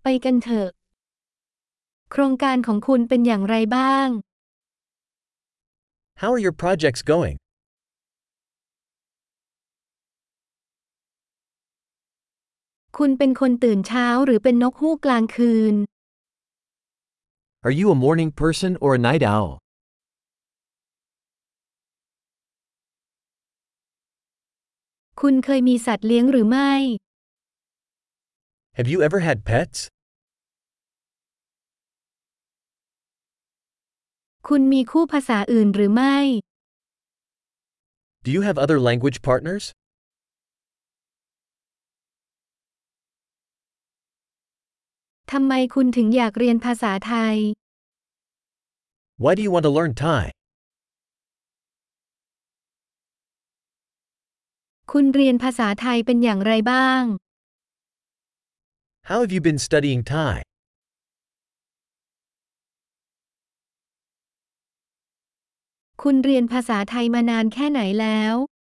กันเถอะโครงการของคุณเป็นอย่างไรบ้าง How are your projects going? คุณเป็นคนตื่นเช้าหรือเป็นนกฮูกกลางคืน Are you a morning person or a night owl? คุณเคยมีสัตว์เลี้ยงหรือไม่ Have you ever had pets? คุณมีคู่ภาษาอื่นหรือไม่ Do you have other language partners? ทำไมคุณถึงอยากเรียนภาษาไทย Why do you want to learn Thai? คุณเรียนภาษาไทยเป็นอย่างไรบ้าง How have you been studying Thai? คุณเรียนภาษาไทยมานานแค่ไหนแล้ว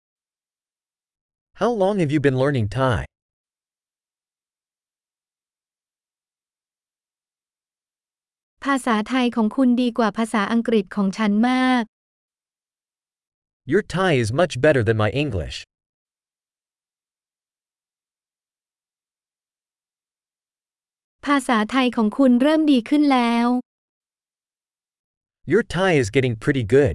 How long have you been learning Thai? ภาษาไทยของคุณดีกว่าภาษาอังกฤษของฉันมาก Your Thai is much better than my English. ภาษาไทยของคุณเริ่มดีขึ้นแล้ว Your Thai is getting pretty good.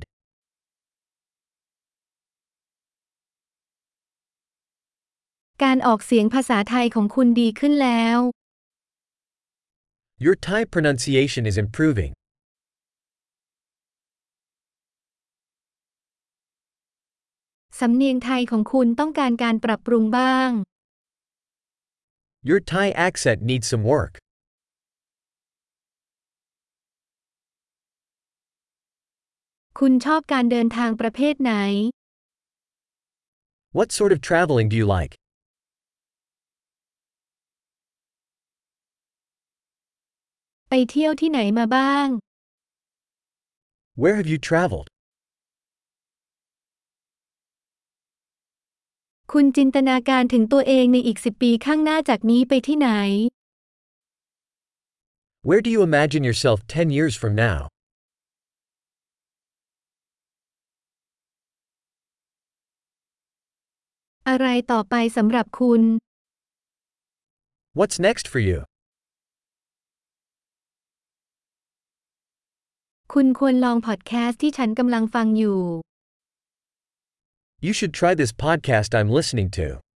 การออกเสียงภาษาไทยของคุณดีขึ้นแล้ว Your Thai pronunciation is improving. สำเนียงไทยของคุณต้องการการปรับปรุงบ้าง Your Thai accent needs some work. คุณชอบการเดินทางประเภทไหน What sort of traveling do you like? ไปเที่ยวที่ไหนมาบ้าง Where have you traveled? คุณจินตนาการถึงตัวเองในอีก10 ปีข้างหน้าจากนี้ไปที่ไหน Where do you imagine yourself 10 years from now? อะไรต่อไปสำหรับคุณ What's next for you? คุณควรลองพอดแคสต์ที่ฉันกำลังฟังอยู่ You should try this podcast I'm listening to.